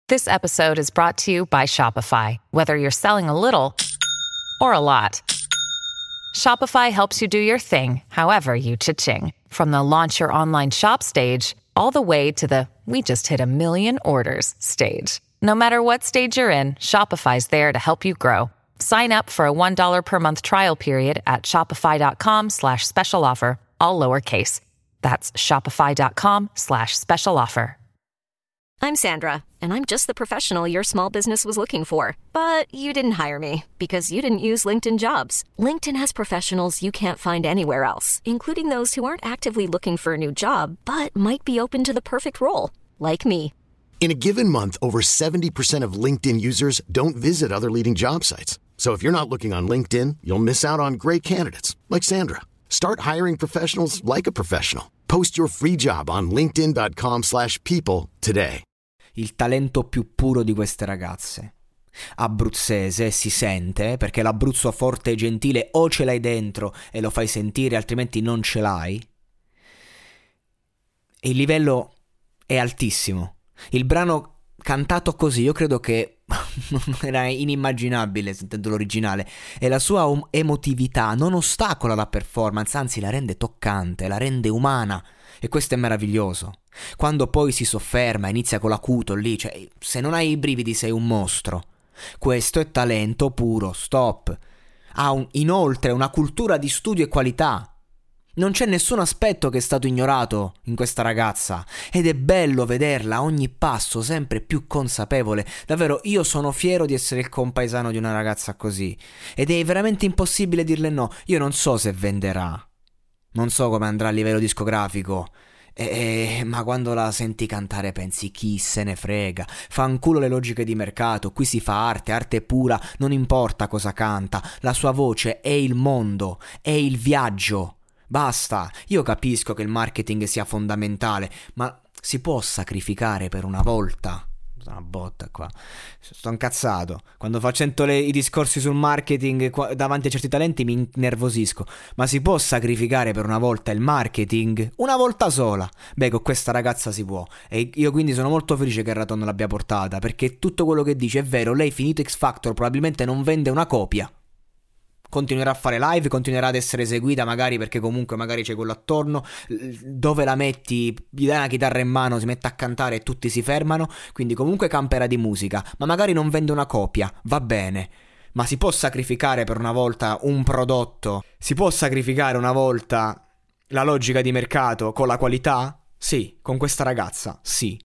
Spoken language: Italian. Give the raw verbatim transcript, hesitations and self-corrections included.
This episode is brought to you by Shopify. Whether you're selling a little or a lot, Shopify helps you do your thing, however you cha-ching. From the launch your online shop stage, all the way to the we just hit a million orders stage. No matter what stage you're in, Shopify's there to help you grow. Sign up for a one dollar per month trial period at shopify.com slash special offer, all lowercase. That's shopify.com slash special offer. I'm Sandra, and I'm just the professional your small business was looking for. But you didn't hire me because you didn't use LinkedIn Jobs. LinkedIn has professionals you can't find anywhere else, including those who aren't actively looking for a new job, but might be open to the perfect role, like me. In a given month, over seventy percent of LinkedIn users don't visit other leading job sites. So if you're not looking on LinkedIn, you'll miss out on great candidates like Sandra. Start hiring professionals like a professional. Post your free job on linkedin.com slash people today. Il talento più puro di queste ragazze. Abruzzese, si sente, perché l'Abruzzo forte e gentile o ce l'hai dentro e lo fai sentire, altrimenti non ce l'hai. E il livello è altissimo. Il brano cantato così, io credo che era inimmaginabile sentendo l'originale, e la sua um- emotività non ostacola la performance, anzi la rende toccante, la rende umana, e questo è meraviglioso. Quando poi si sofferma, inizia con l'acuto lì, cioè se non hai i brividi sei un mostro. Questo è talento puro, stop. Ha un, inoltre una cultura di studio e qualità. Non c'è nessun aspetto che è stato ignorato in questa ragazza, ed è bello vederla a ogni passo sempre più consapevole. Davvero, io sono fiero di essere il compaesano di una ragazza così, ed è veramente impossibile dirle no. Io non so se venderà, non so come andrà a livello discografico, e, e, ma quando la senti cantare pensi chi se ne frega, fanculo le logiche di mercato, qui si fa arte, arte pura, non importa cosa canta, la sua voce è il mondo, è il viaggio. Basta, io capisco che il marketing sia fondamentale, ma si può sacrificare per una volta? Una botta qua, sto incazzato. Quando faccio le, i discorsi sul marketing qua, davanti a certi talenti mi innervosisco. Ma si può sacrificare per una volta il marketing? Una volta sola? Beh, con questa ragazza si può. E io quindi sono molto felice che il Raton l'abbia portata, perché tutto quello che dice è vero. Lei finito X Factor probabilmente non vende una copia. Continuerà a fare live, continuerà ad essere eseguita magari perché comunque magari c'è quello attorno, dove la metti, gli dai una chitarra in mano, si mette a cantare e tutti si fermano, quindi comunque camperà di musica, ma magari non vende una copia, va bene, ma si può sacrificare per una volta un prodotto, si può sacrificare una volta la logica di mercato con la qualità? Sì, con questa ragazza, sì.